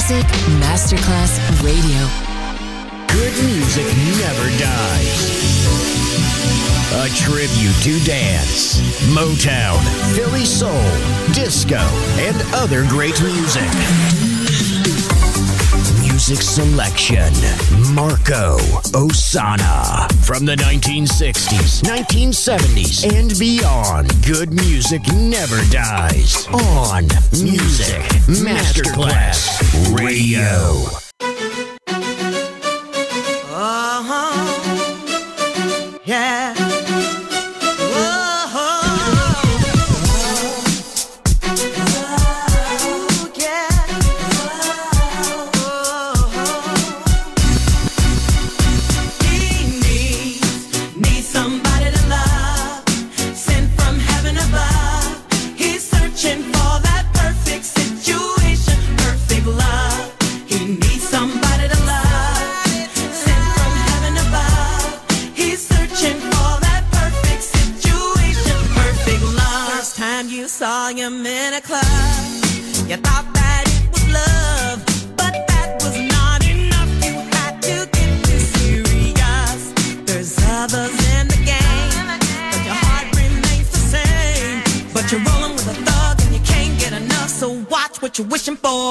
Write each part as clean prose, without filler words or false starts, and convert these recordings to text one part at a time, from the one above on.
Music Masterclass Radio. Good music never dies. A tribute to dance, Motown, Philly soul, disco, and other great music. Music selection, Marco Ossanna. From the 1960s, 1970s, and beyond, good music never dies. On Music Masterclass Radio. Yeah. Saw him in a club. You thought that it was love, but that was not enough. You had to get too serious. There's others in the game, but your heart remains the same. But you're rolling with a thug and you can't get enough. So watch what you're wishing for.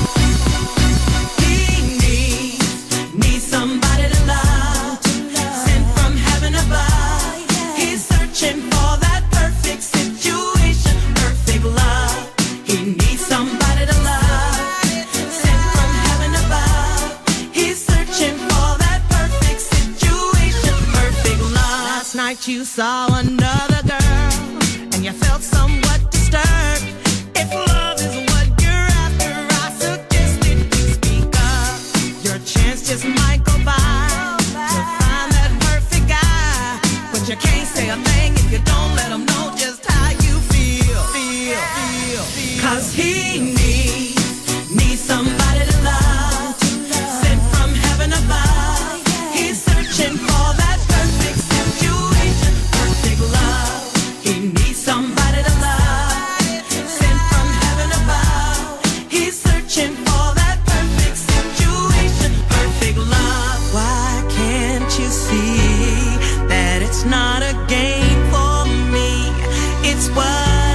He needs somebody to love, sent from heaven above. He's searching for that perfect situation. Love. He needs somebody to love, sent from heaven above. He's searching for that perfect situation, perfect love. Last night you saw another girl and you felt somewhat disturbed. If love is what you're after, I suggest that you speak up. Your chance just might go by to find that perfect guy, but you can't say a thing if you don't let him know just how you feel. Cause he needs somebody to love, sent from heaven above. He's searching for that perfect situation, perfect love. He needs somebody to love, sent from heaven above. He's searching for that perfect situation, perfect love. Why can't you see that it's not a game for me? It's what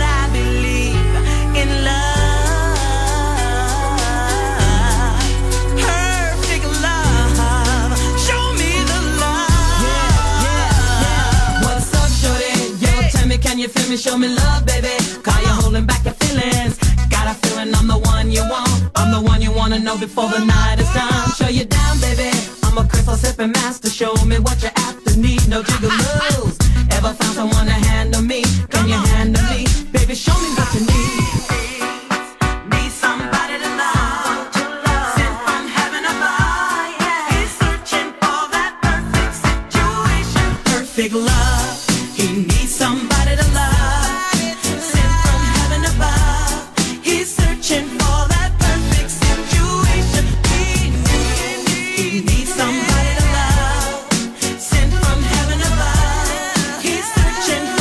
you feel me, show me love, baby. Cause you're holding back your feelings. Got a feeling I'm the one you want. I'm the one you wanna know before the night is done. Show you down, baby. I'm a crystal sipping master. Show me what you're after. Need no jiggle moves. Ever found someone to handle me? Can you handle me? Baby, show me what you need. Need somebody to love, sent from heaven above. He's searching for that perfect situation, perfect love. He needs somebody to love, sent from heaven above. He's searching for that perfect situation. He needs somebody to love, sent from heaven above. He's searching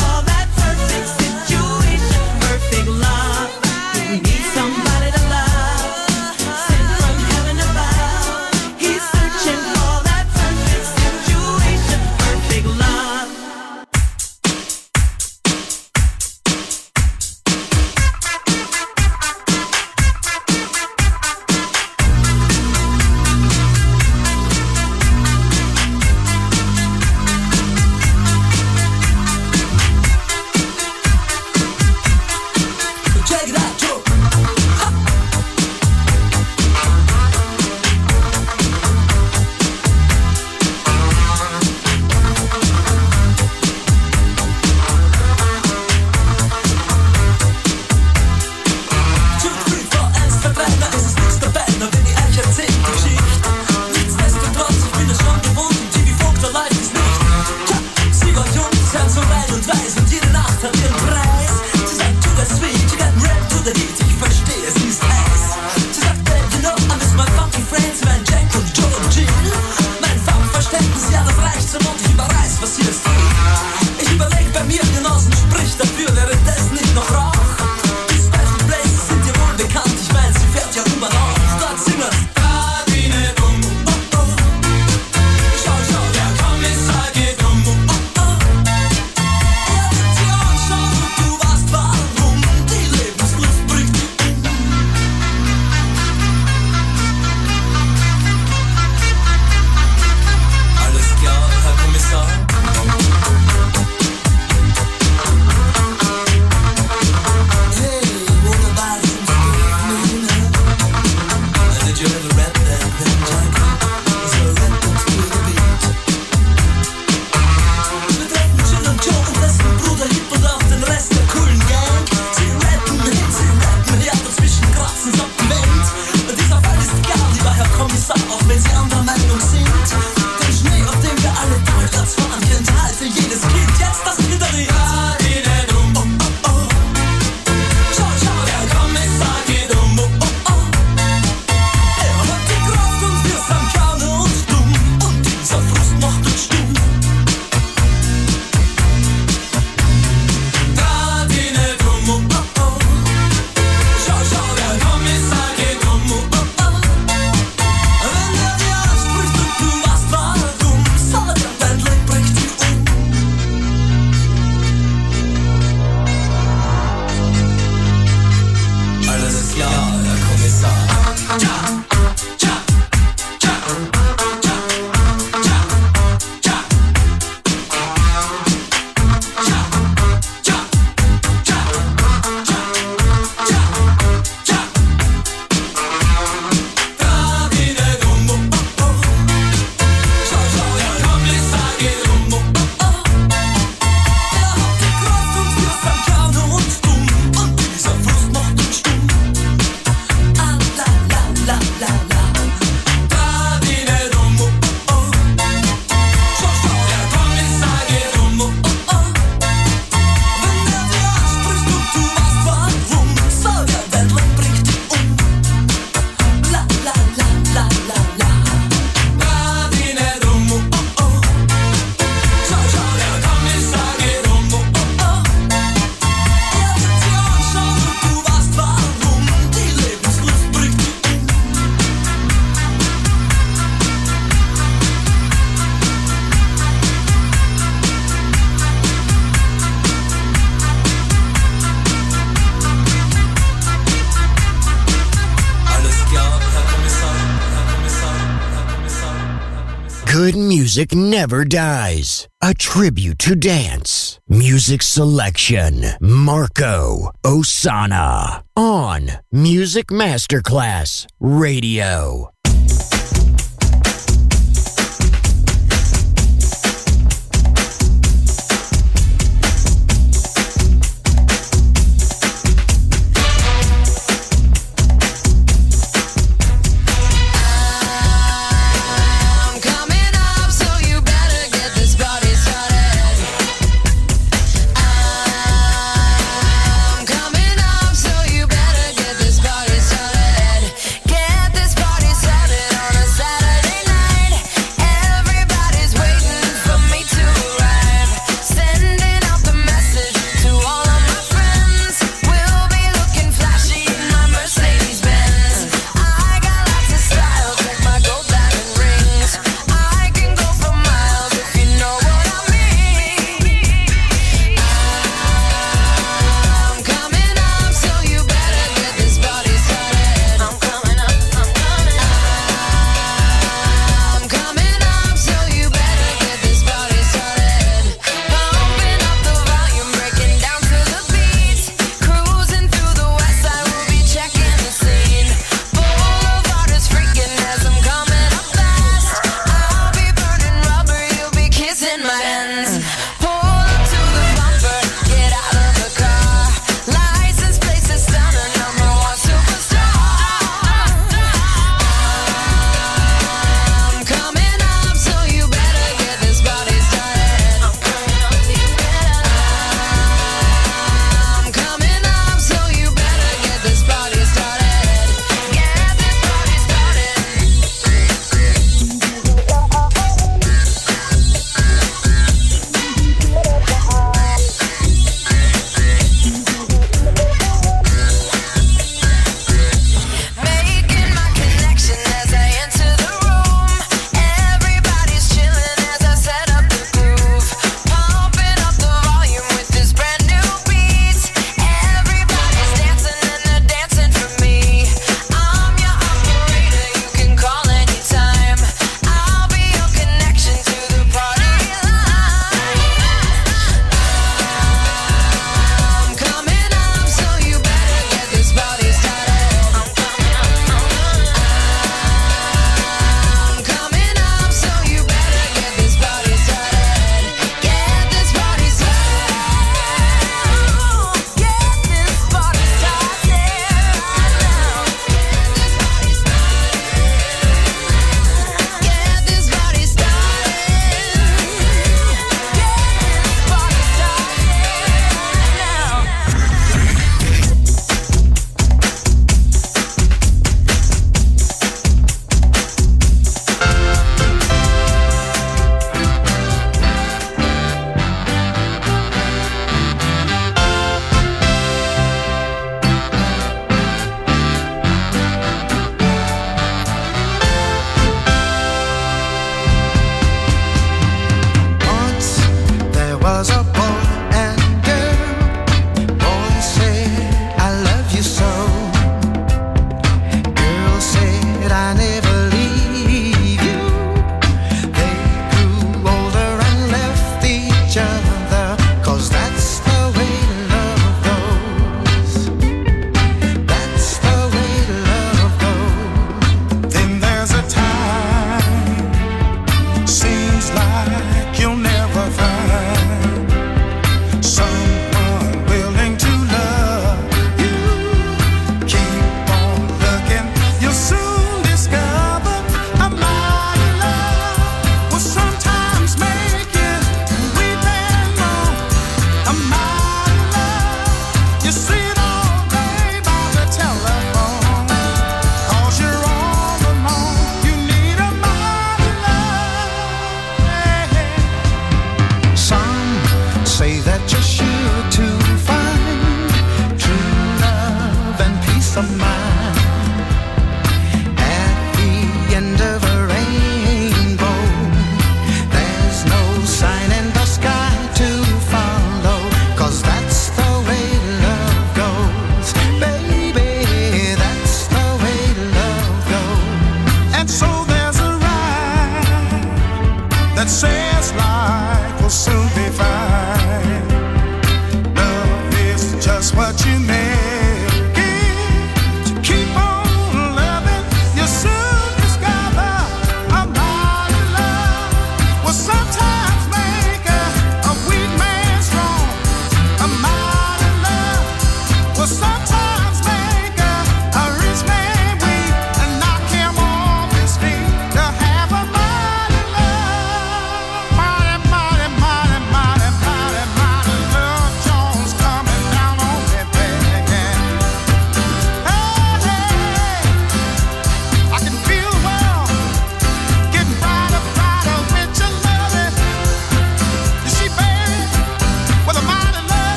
Good music never dies. A tribute to dance. Music selection. Marco Ossanna. On Music Masterclass Radio.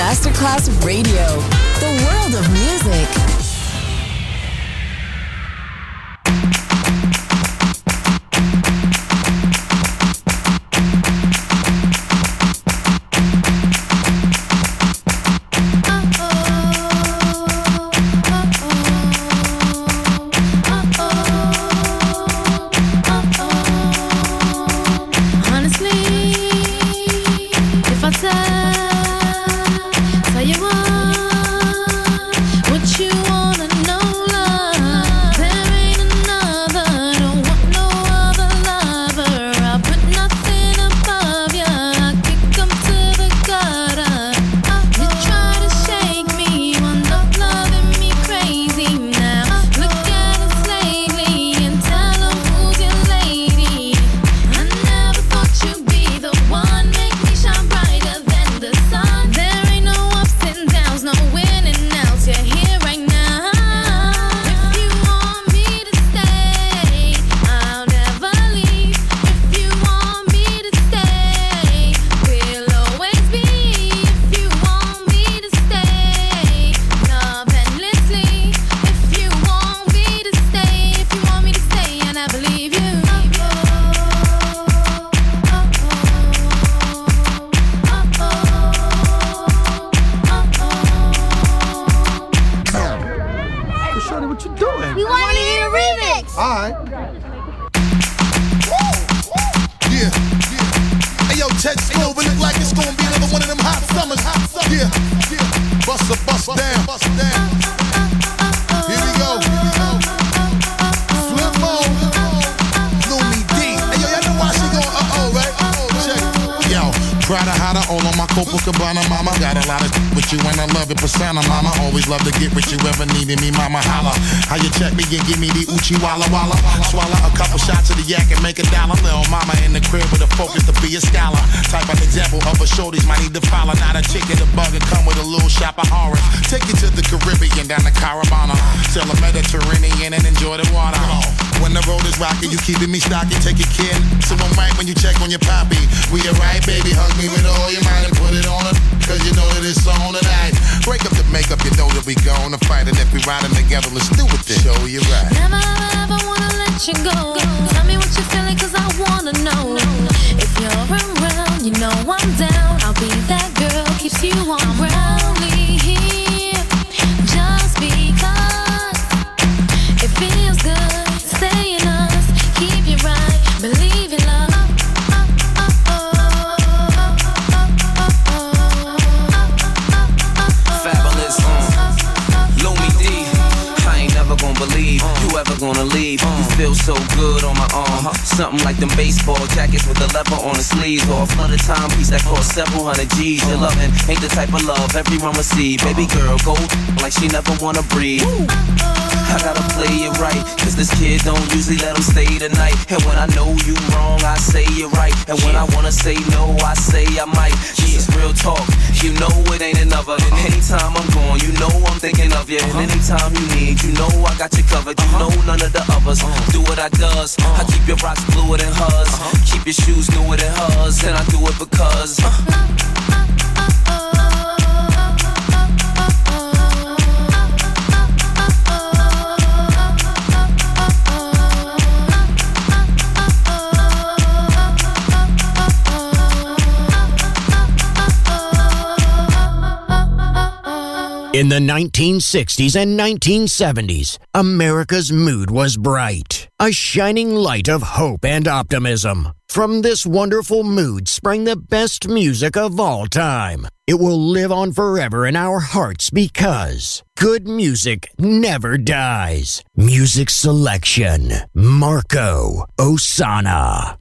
Masterclass Radio, the world of music. Tell you what you wanna know, love. There ain't another, don't want no other lover. I put nothing above ya, I kick 'em to the gutter. You try to shake me, wound up loving me crazy now. Look at us lately and tell 'em who's your lady. I never thought you'd be the one, make me shine brighter than the sun. There ain't no ups and downs, no winning outs, you're here right now. If you want me to stay, I'll never leave. If you want me to stay, we'll always be. If you want me to stay, love endlessly. If you want me to stay, if you want me to stay, and I believe you. Hey, Shorty, what you doing? We want to hear a remix. All right. Yeah. Hey, yo, Ted Smooth, it look like it's gonna be another one of them hot summers. Yeah. Bust down. Here we go. Flip mode. Lumi D. Hey, yo, y'all know why she going right? Check. Yo, Prada hotter, all on my Copacabana, mama. Got a lot of with you and I love it, persona, mama. Always love to get with you, ever needed me, mama. Holla. How you check me and give me the Uchi Walla Walla. Swallow a couple shots of the yak and make a dollar. Little mama in the crib with a focus to be a scholar. Type of example of a shorties might need to follow. Not a chicken, a bug, and come with a little shop of horrors. Take you to the Caribbean, down to Carabana. Sail the Mediterranean and enjoy the water. When the road is rocky, you keeping me stocky, take your kid. So I'm right when you check on your poppy. We alright, baby, hug me with all your mind and put it on her. Cause you know that it's on tonight. Break up the makeup, you know that we gonna fight. And if we riding together, let's do it then. Show you right. Never ever wanna let you go. Tell me what you're feeling, cause I wanna know. If you're around, you know I'm down. I'll be that girl, keeps you on ground. Only here, just because it feels good. Stay in us, keep you right, believe in love. Fabulous, Lumi D. I ain't never gonna believe you ever gonna leave. You feel so good on my arm. Something like them baseball jackets with the leather on the sleeves, or a flooded timepiece that cost several hundred G's. Your loving ain't the type of love everyone will see. Baby girl, go like she never wanna breathe. I gotta play it right, cause this kid don't usually let him stay the night. And when I know you wrong, I say you're right. And when I wanna say no, I say I might. This is real talk, you know it ain't another. And anytime I'm gone, you know I'm thinking of you. And anytime you need, you know I got you covered. You know none of the others do what I does. I keep your rocks bluer than hers, keep your shoes newer than hers. And I do it because In the 1960s and 1970s, America's mood was bright, a shining light of hope and optimism. From this wonderful mood sprang the best music of all time. It will live on forever in our hearts because good music never dies. Music selection, Marco Ossanna.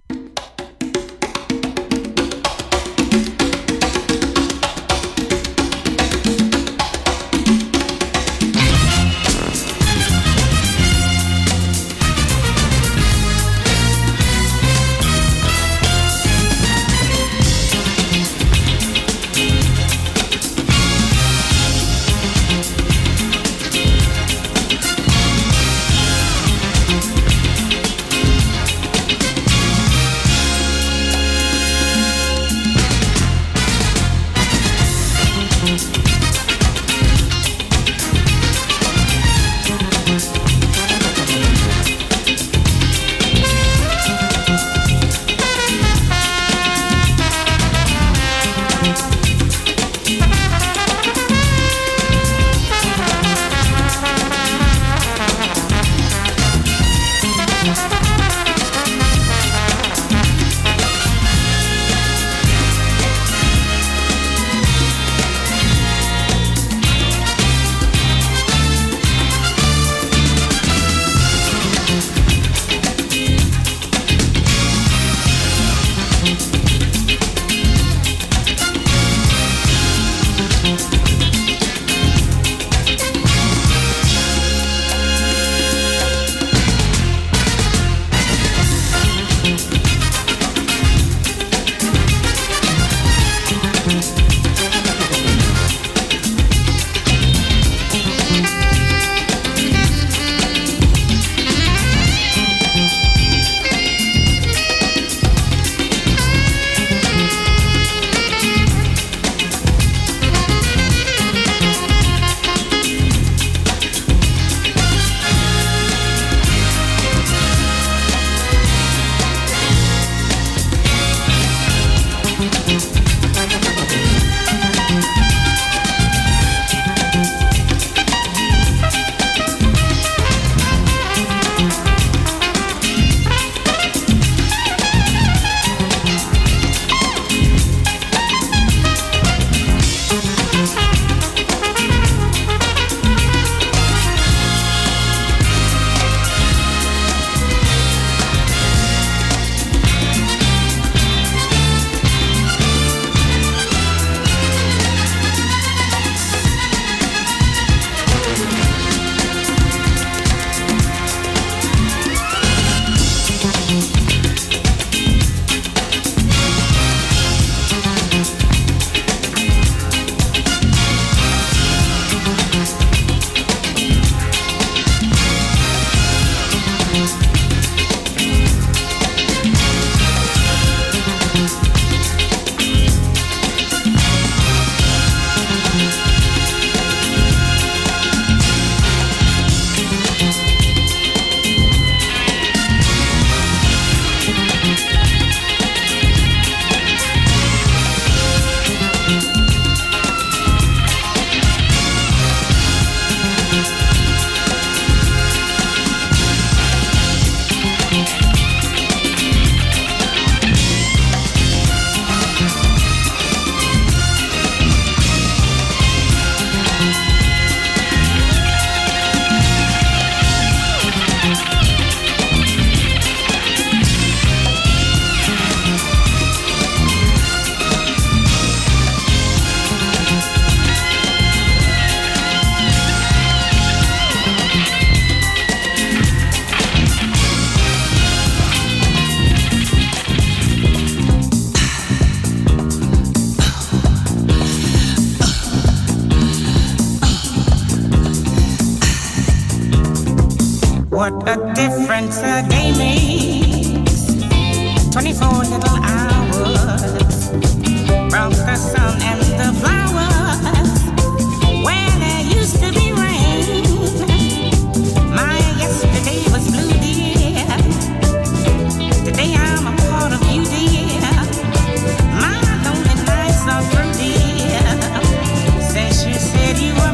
What a difference a day makes. 24 little hours from the sun and the flowers. Where there used to be rain, my yesterday was blue, dear. Today I'm a part of you, dear. My lonely nights are through, dear. Since you said you were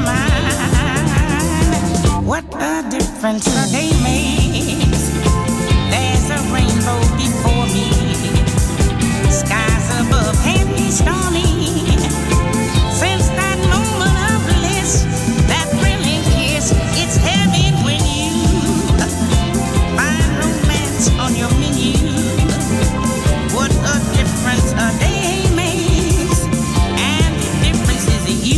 mine. What a difference a day makes. There's a rainbow before me. Skies above can be stormy. Since that moment of bliss, that thrilling kiss, it's heaven when you find romance on your menu. What a difference a day makes, and the difference is you.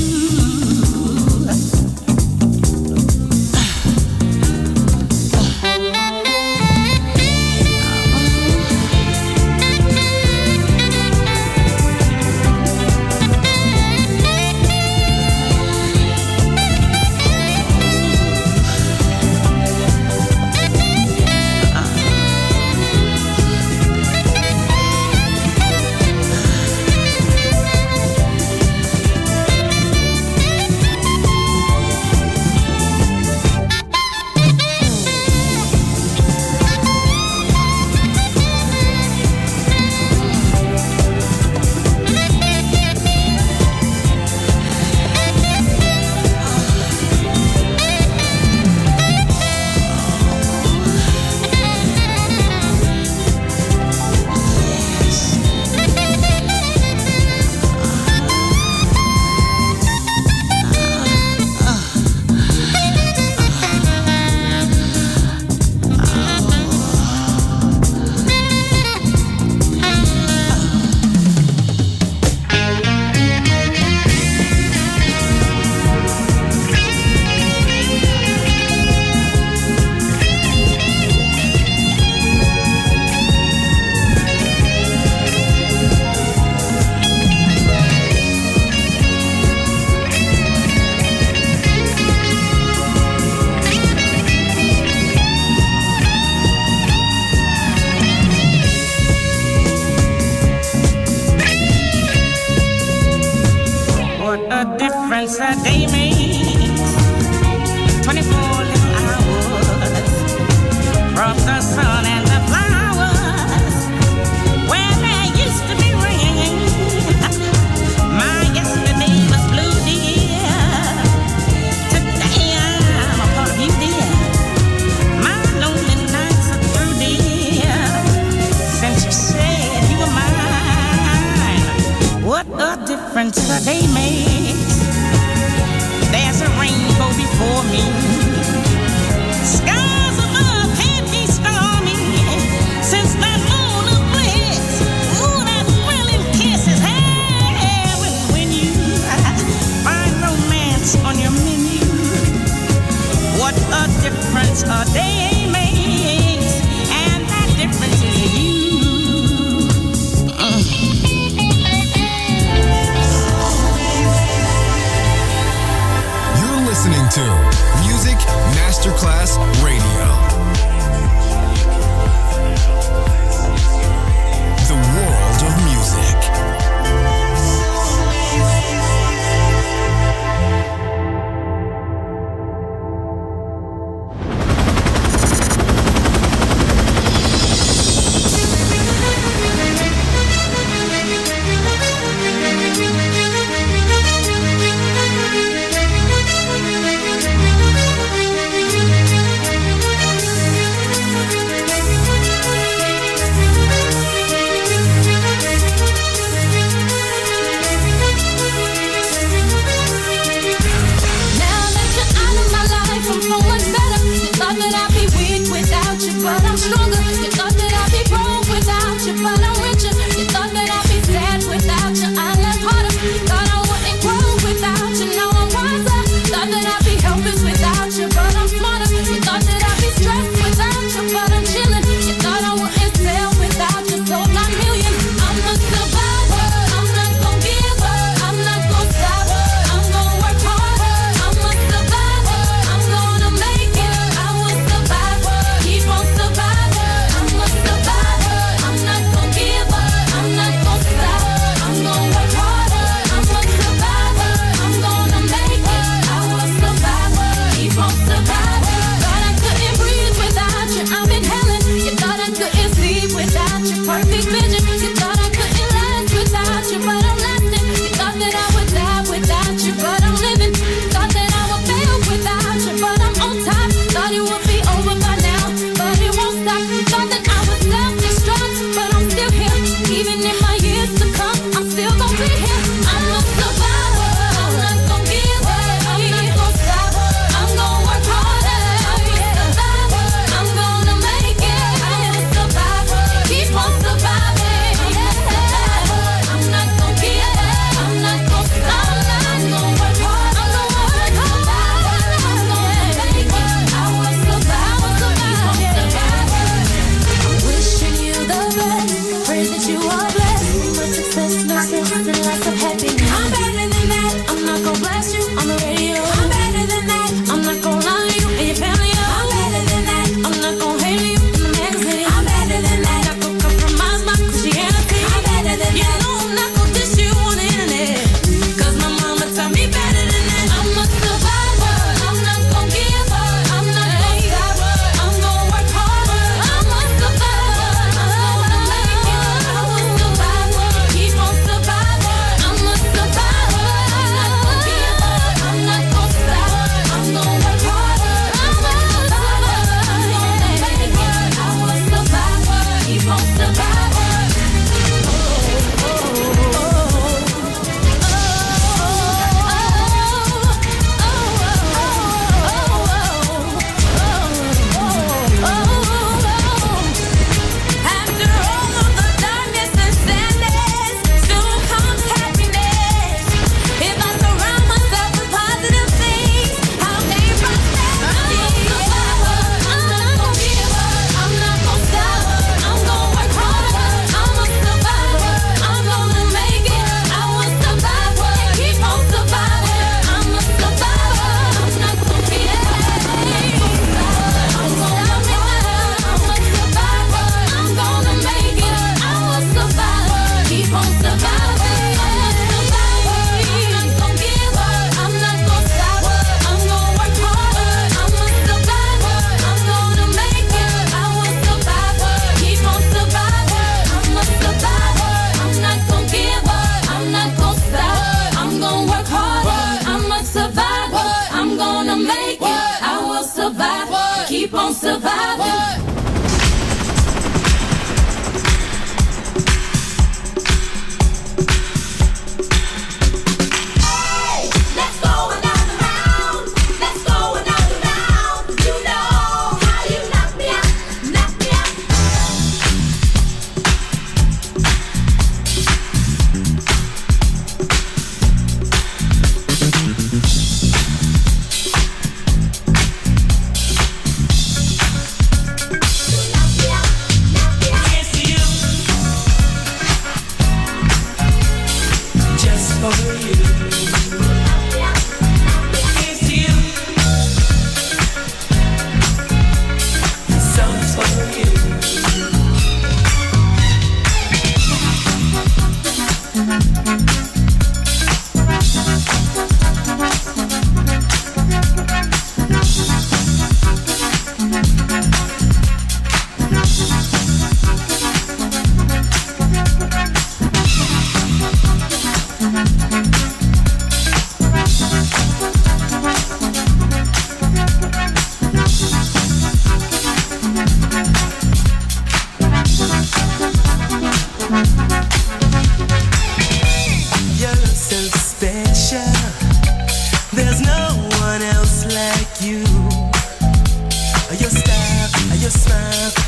What a difference a day makes. 24 little hours from the sun and the flowers. Where there used to be rain, my yesterday was blue, dear. Today I'm a part of you, dear. My lonely nights are through, dear. Since you said you were mine. What a difference a day makes. There's a rainbow before me. Skies above can't be stormy. Since that moon of bliss, ooh, that thrilling kiss is heaven when you find romance on your menu. What a difference a day makes, and that difference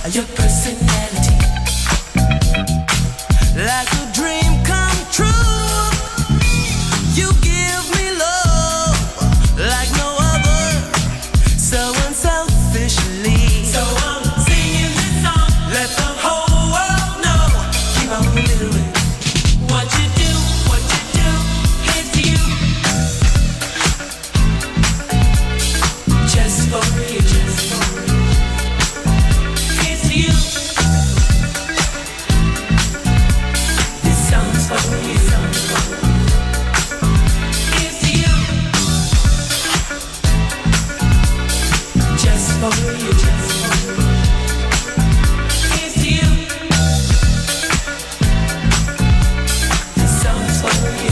your personality. Like a dream come true. You give me love like no other, so unselfishly. So I'm singing this song, let the whole world know. Keep on doing what you do, here's to you. Just for you, here's to you. This song's for you. Here's to you. Just for you. Here's to you. This song's for you.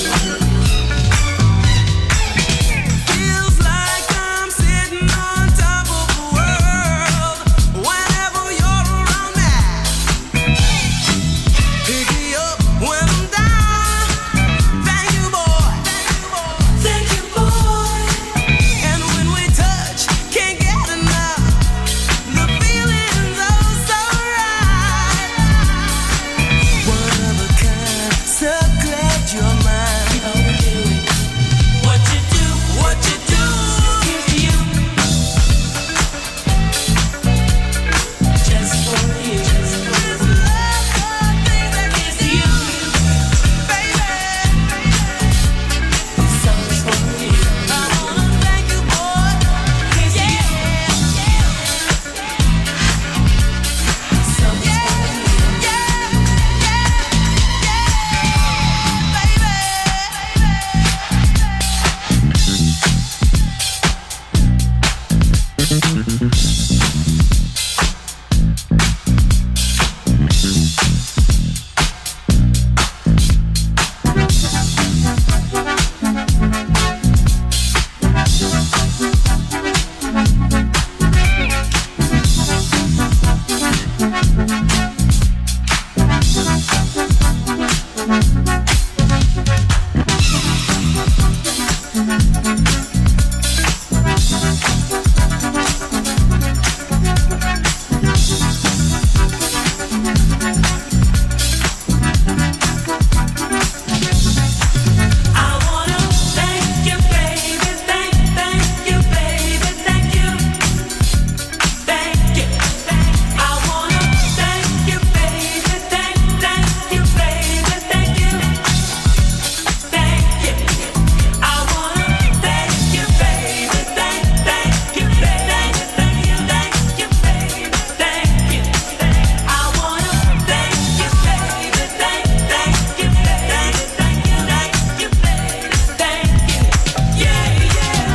Feels like I'm sitting on top of the world whenever you're around me. Pick me up when I'm down. Thank you, boy. Thank you, boy. And when we touch, can't get enough. The feeling's oh so right. One of a kind, so glad you're mine. Keep on doing what you do, here's to you. Just for you. This love, here's to you, baby. This song's for you. I wanna thank you, boy. Here's to you. This song's for you. I wanna thank you, baby. Thank you, baby. Thank you. Thank you. I wanna thank you, baby. Thank you, baby. Thank you. Thank you. I wanna thank you, baby. Thank you, baby. Thank you, baby. Thank you. I wanna thank you, baby. Thank you, baby. Thank you, baby. Thank you. Yeah, yeah.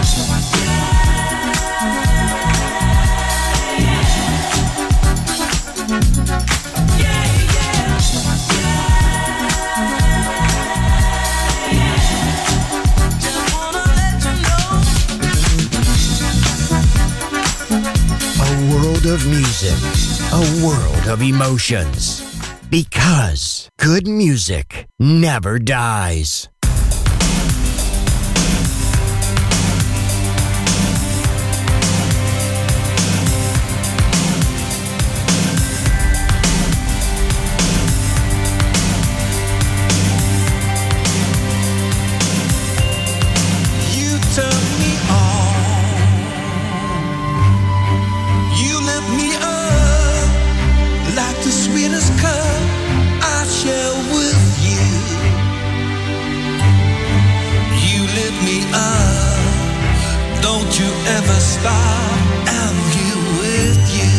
Just wanna let you know. A world of music, a world of emotions. Because good music never dies. You turn me on. You lift me up like the sweetest cup I share with you. You lift me up. Don't you ever stop. I'm here with you.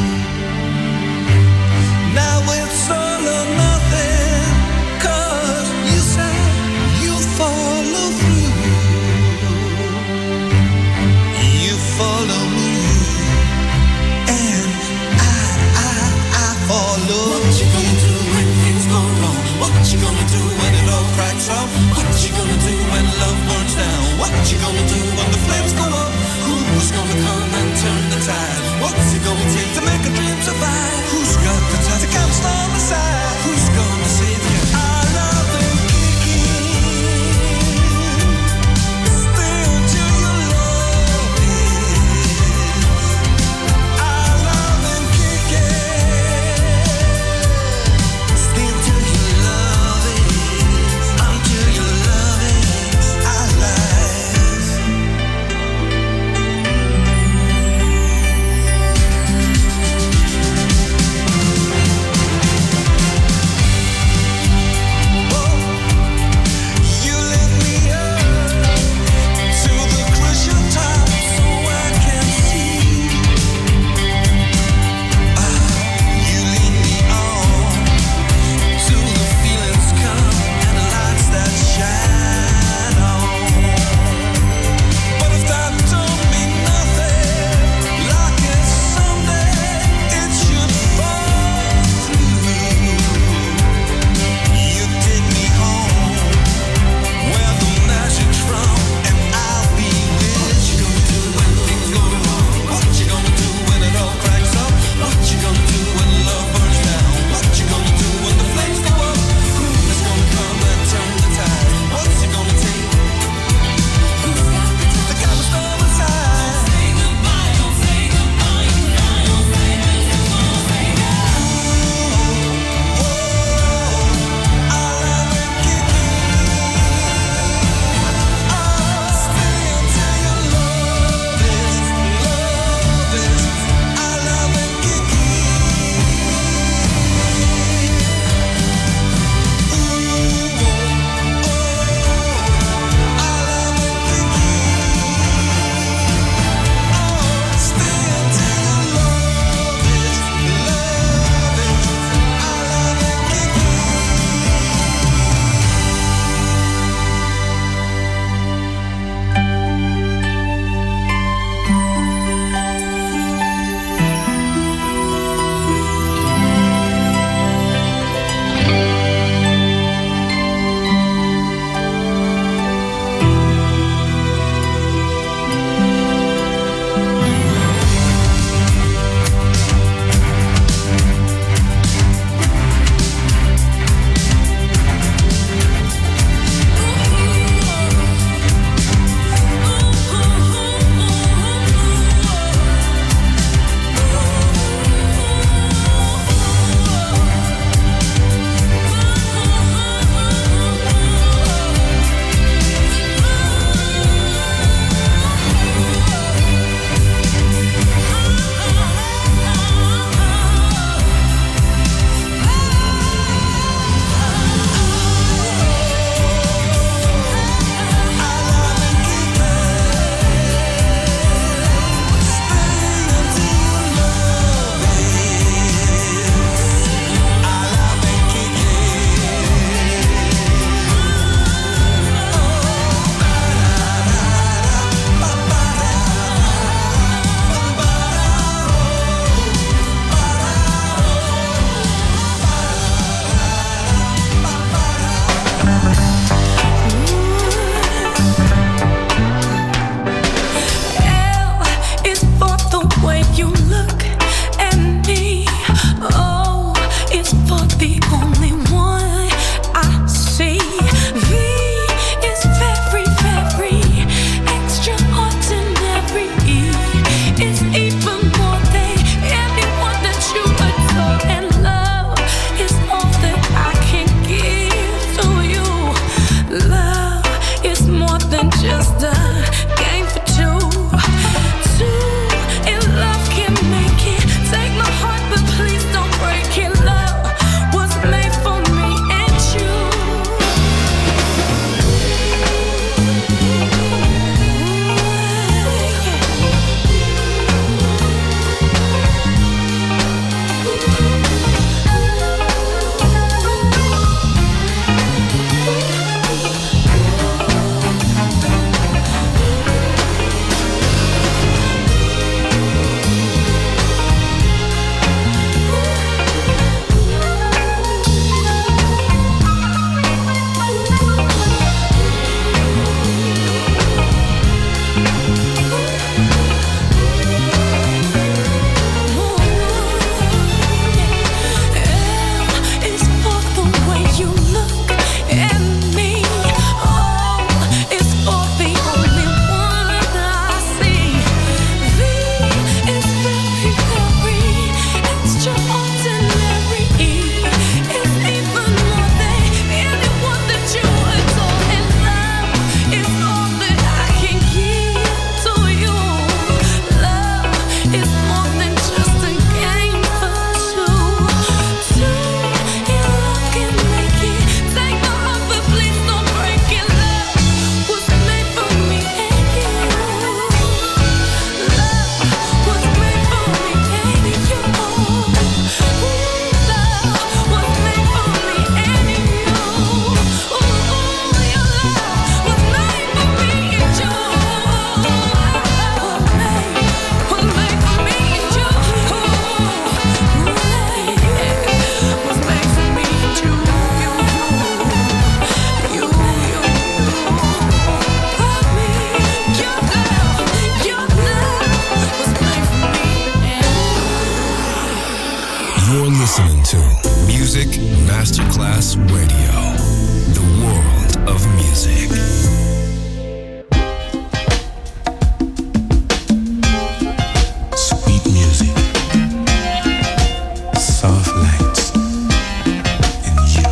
Now it's all or nothing. 'Cause you said you follow through. You follow me, and I follow. What you gonna do when things go wrong? What you gonna do when it all cracks up? What you gonna do when love burns down? What you gonna do when the flames go up? Who's gonna come and turn the tide? What's it gonna take to make a dream survive? Who's got the time to come stand beside? Who's gonna save you? I love them kicking. Still to your love is. I love them kicking. Class Radio, the world of music. Sweet music, soft lights, and you.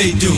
they do.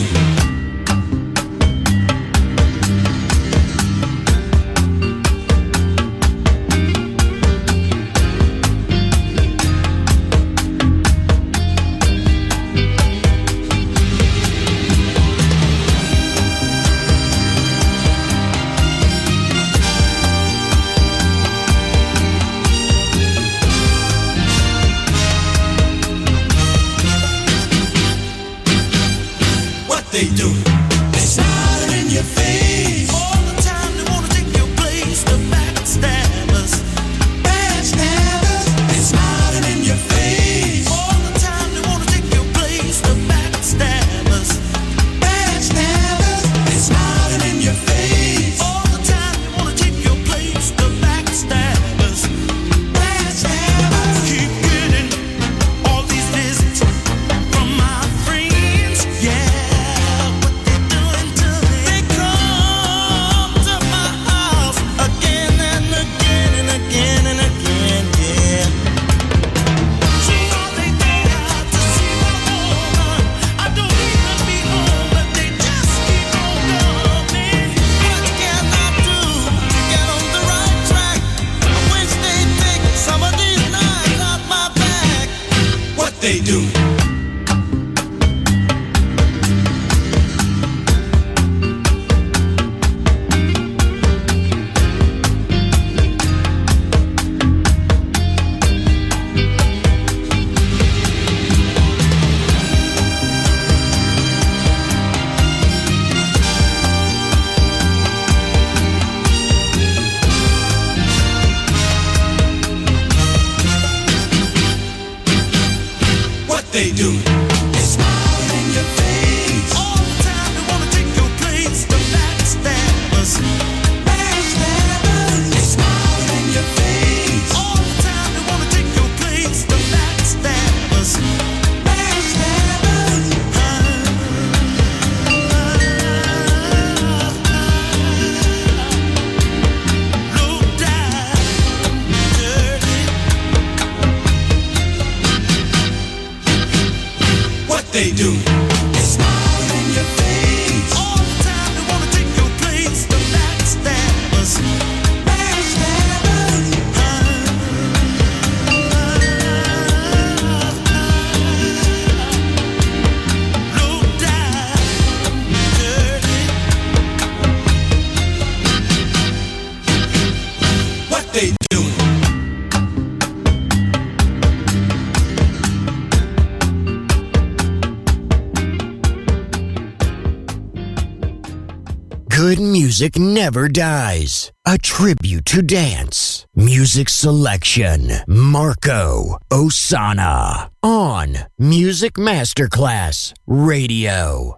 They do. They smile in your face all the time. They wanna take your place. The backstabbers, backstabbers. They smiling in your face all the time. They wanna take your place. The backstabbers, backstabbers. They smiling in your face all the time. They wanna take your place. The backstabbers, backstabbers. Keep getting all these visits from my friends. Yeah. They do. They do. They smile in your face all the time. They wanna take your place. The backstabbers, backstabbers. They smile in your face all the time. They wanna take your place. The backstabbers, backstabbers. Low down, dirty. What they do. They smile in your face all the time. They wanna take your place. The backstabbers, backstabbers. Low down, dirty. What they do. Good music never dies. A tribute to dance. Music selection. Marco Ossanna. On Music Masterclass Radio.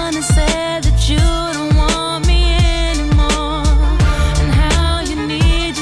Need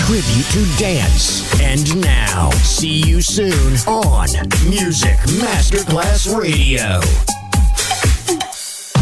tribute to dance. And now, see you soon on Music Masterclass Radio.